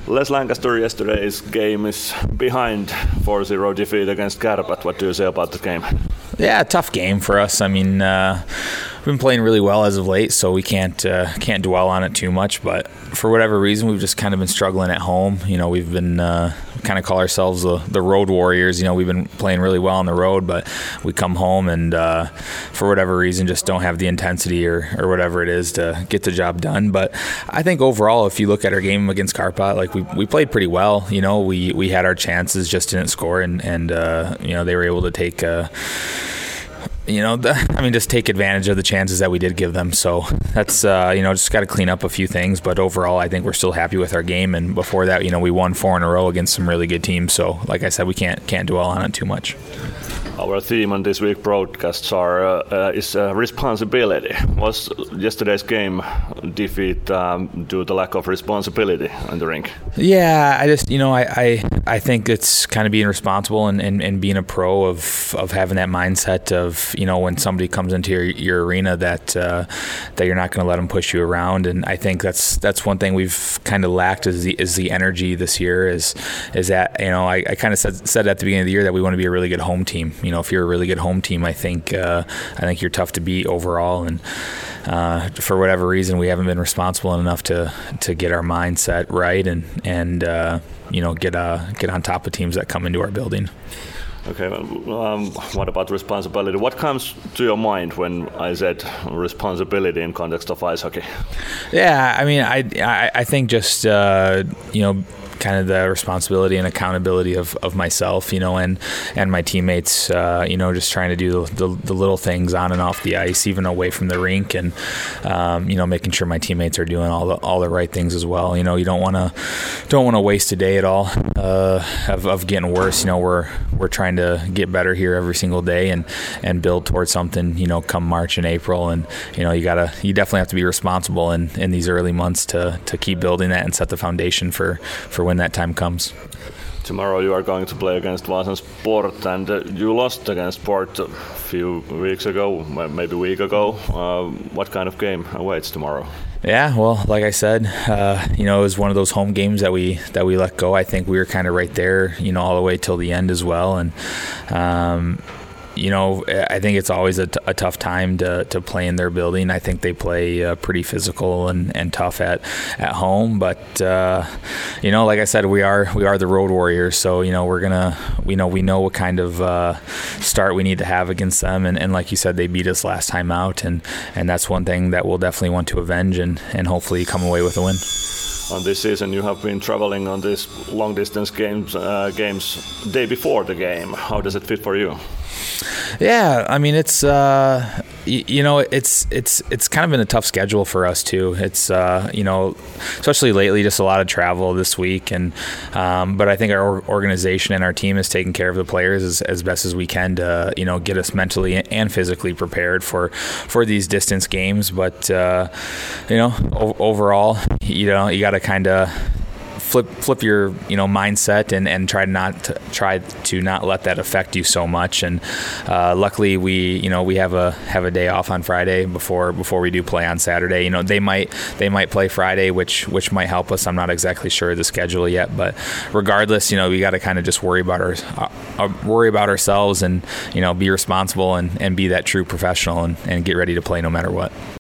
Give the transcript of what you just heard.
Les Lancaster yesterday's game is behind 4-0 defeat against Kärpät. What do you say about the game? Yeah, tough game for us. I mean, we've been playing really well as of late, so we can't dwell on it too much. But for whatever reason, we've just kind of been struggling at home. You know, we've been kind of call ourselves the road warriors. You know, we've been playing really well on the road, but we come home and for whatever reason just don't have the intensity or whatever it is to get the job done. But I think overall, if you look at our game against Kärpät, like we played pretty well. You know, we had our chances, just didn't score, and you know, they were able to take. Just take advantage of the chances that we did give them. So that's, just got to clean up a few things. But overall, I think we're still happy with our game. And before that, we won 4 in a row against some really good teams. So like I said, we can't dwell on it too much. Our theme on this week's broadcasts is responsibility. Was yesterday's game defeat due to lack of responsibility in the rink? Yeah, I just, I think it's kind of being responsible and being a pro of having that mindset of, when somebody comes into your arena that you're not going to let them push you around. And I think that's one thing we've kind of lacked is the energy this year is that, I kind of said at the beginning of the year that we want to be a really good home team. If you're a really good home team, I think you're tough to beat overall. And for whatever reason, we haven't been responsible enough to get our mindset right and get on top of teams that come into our building. Okay, what about responsibility? What comes to your mind when I said responsibility in context of ice hockey? Yeah, I mean, I think just kind of the responsibility and accountability of myself, and my teammates, just trying to do the little things on and off the ice, even away from the rink, and making sure my teammates are doing all the right things as well. You don't want to waste a day at all of getting worse. We're trying to get better here every single day and build towards something. Come March and April, and you definitely have to be responsible in these early months to keep building that and set the foundation for when that time comes. Tomorrow you are going to play against Vaasan Sport, and you lost against Sport a few weeks ago, maybe a week ago. What kind of game awaits tomorrow? Yeah, well, like I said, it was one of those home games that we let go. I think we were kind of right there, all the way till the end as well, and I think it's always a tough time to play in their building. I think they play pretty physical and tough at home. But like I said, we are the road warriors. So we know what kind of start we need to have against them. And like you said, they beat us last time out, and that's one thing that we'll definitely want to avenge and hopefully come away with a win. On this season, you have been traveling on these long-distance games day before the game. How does it fit for you? Yeah, I mean, it's it's kind of been a tough schedule for us too. It's especially lately, just a lot of travel this week, and but I think our organization and our team is taking care of the players as best as we can to get us mentally and physically prepared for these distance games. But overall, you got to kind of flip your mindset and try to not let that affect you so much. And luckily we have a day off on Friday before we do play on Saturday. They might play Friday, which might help us. I'm not exactly sure of the schedule yet, but regardless, we got to kind of just worry about ourselves and be responsible and be that true professional and get ready to play no matter what.